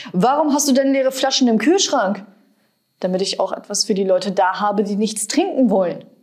Warum hast du denn leere Flaschen im Kühlschrank? Damit ich auch etwas für die Leute da habe, die nichts trinken wollen.